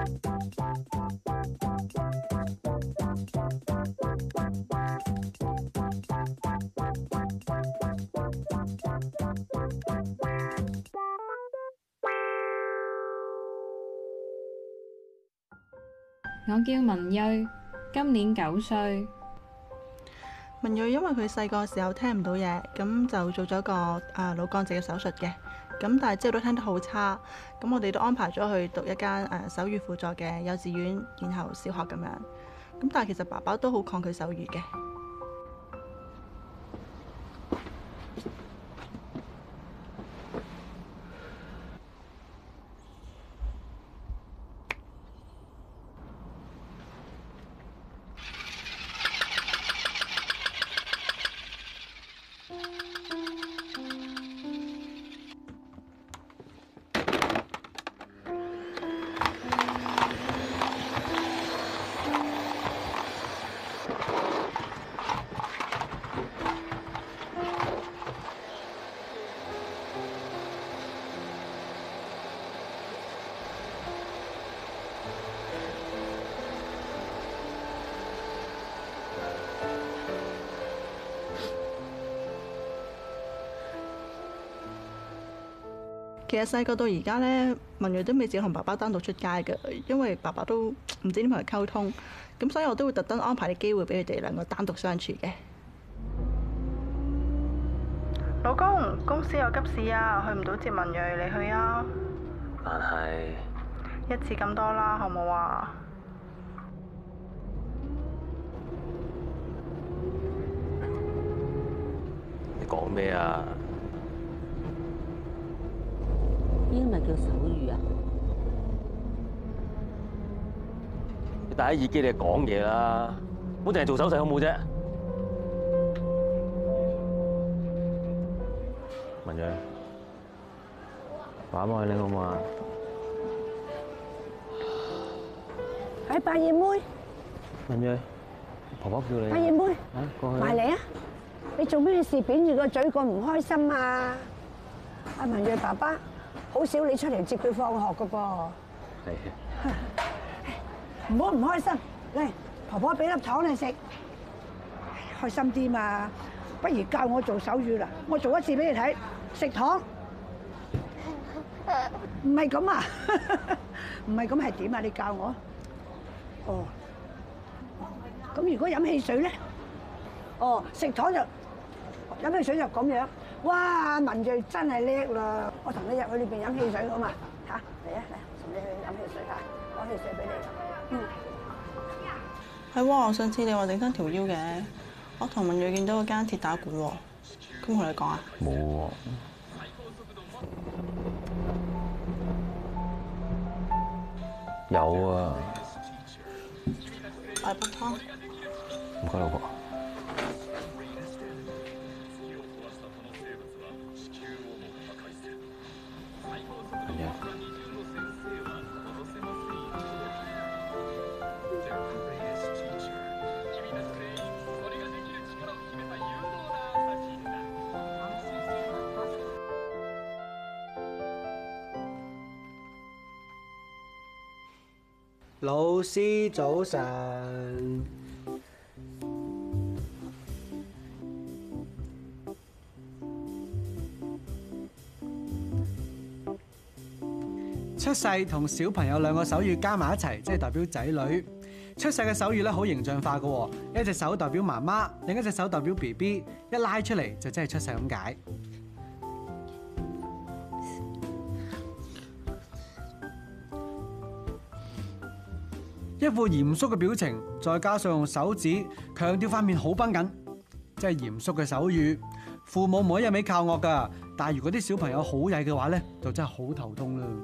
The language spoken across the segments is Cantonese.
我叫文睿，今年9歲。 文睿因為佢細個時候聽唔到嘢，咁就做咗個腦幹直嘅手術嘅。咁但係之後都聽得好差，咁我哋都安排咗去讀一間手語輔助嘅幼稚園，然後小學咁樣。咁但係其實爸爸都好抗拒手語嘅。其實細個到而家呢，文睿都未試同爸爸單獨出街嘅，因為爸爸都唔知點同佢溝通，咁所以我都會特登安排啲機會俾佢哋兩個單獨相處嘅。老公，公司有急事啊，去唔到接文睿，你去啊？ 但係一次咁多啦，好唔好啊？ 你講咩啊？ 呢個咪叫手語啊！ 你戴喺耳機你講嘢啦，唔好淨係做手勢好冇啫。文睿，玩埋你好嘛？ 喺八葉妹， 文睿，婆婆叫你。 八葉妹， 過去。 埋嚟啊！你做咩事扁住個嘴咁唔開心啊？阿文睿爸爸。好少你出嚟接佢放學噶噃， 係。 唔好唔開心，嚟婆婆俾粒糖你食，開心啲嘛。不如教我做手語啦，我做一次俾你睇，食糖。唔係咁啊，唔係咁係點啊？你教我。哦。咁如果飲汽水咧？哦，食糖就飲汽水就咁樣。哇！文睿真係叻啦！我同你入去裏邊飲汽水好嘛？嚇嚟啊嚟！同你去飲汽水嚇，攞汽水俾你。 係喎，上次你話整親條腰嘅，我同文睿見到嗰間鐵打館喎，咁同你講啊？ 冇喎。有啊。 大煲湯。 唔該，老婆。 老師早晨。 出世同小朋友兩個手語加埋一齊，即係代表仔女。出世嘅手語咧好形象化㗎，一隻手代表媽媽，另一隻手代表 BB， 一拉出嚟就真係出世咁解。一副嚴肅嘅表情，再加上用手指強調塊面好繃緊，即係嚴肅嘅手語。父母唔可以一味靠惡㗎，但係如果啲小朋友好曳嘅話咧，就真係好頭痛啦。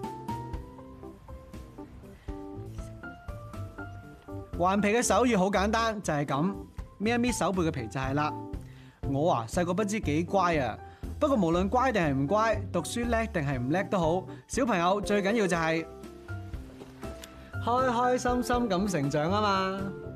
頑皮嘅手語好簡單，就係咁，搣一搣手背嘅皮就係啦。我啊細個不知幾乖啊，不過無論乖定係唔乖，讀書叻定係唔叻都好，小朋友最緊要就係開開心心咁成長啊嘛。